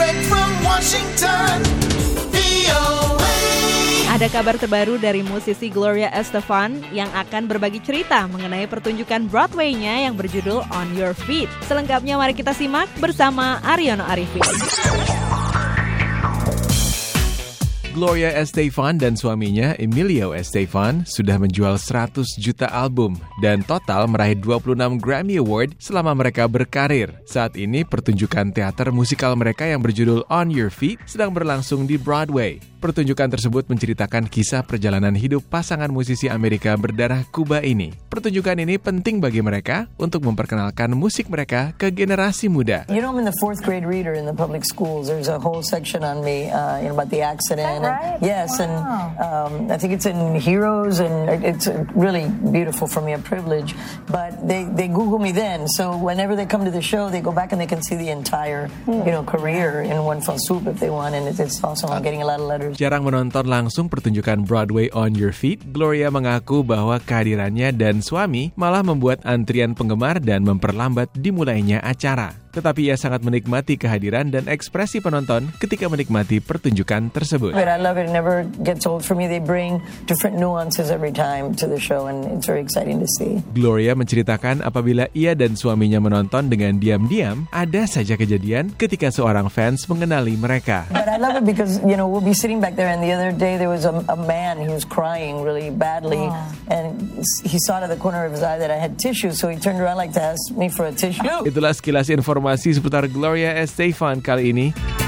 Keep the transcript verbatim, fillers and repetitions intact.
Direct from Washington, V O A. Ada kabar terbaru dari musisi Gloria Estefan yang akan berbagi cerita mengenai pertunjukan Broadway-nya yang berjudul On Your Feet. Selengkapnya mari kita simak bersama Aryono Arifin. Gloria Estefan dan suaminya Emilio Estefan sudah menjual seratus juta album dan total meraih dua puluh enam Grammy Award selama mereka berkarir. Saat ini pertunjukan teater musikal mereka yang berjudul On Your Feet sedang berlangsung di Broadway. Pertunjukan tersebut menceritakan kisah perjalanan hidup pasangan musisi Amerika berdarah Kuba ini. Pertunjukan ini penting bagi mereka untuk memperkenalkan musik mereka ke generasi muda. You know, I'm in the fourth grade reader in the public schools. There's a whole section on me, uh, you know, about the accident. Right? And, yes, wow. and um, I think it's in Heroes, and it's really beautiful for me, a privilege. But they, they Google me then, so whenever they come to the show, they go back and they can see the entire, you know, career in one fell swoop if they want, and it's, it's awesome. I'm getting a lot of letters. Jarang menonton langsung pertunjukan Broadway On Your Feet, Gloria mengaku bahwa kehadirannya dan suami malah membuat antrian penggemar dan memperlambat dimulainya acara. Tetapi ia sangat menikmati kehadiran dan ekspresi penonton ketika menikmati pertunjukan tersebut. But I love it. It never gets old for me. They bring different nuances every time to the show, and it's very exciting to see. Gloria menceritakan apabila ia dan suaminya menonton dengan diam-diam, ada saja kejadian ketika seorang fans mengenali mereka. But I love it because, you know, we'll be sitting back there, and the other day there was a, a man, he was crying really badly, oh. and he saw out of the corner of his eye that I had tissue, so he turned around like to ask me for a tissue. Itulah sekilas informasi seputar Gloria Estefan kali ini.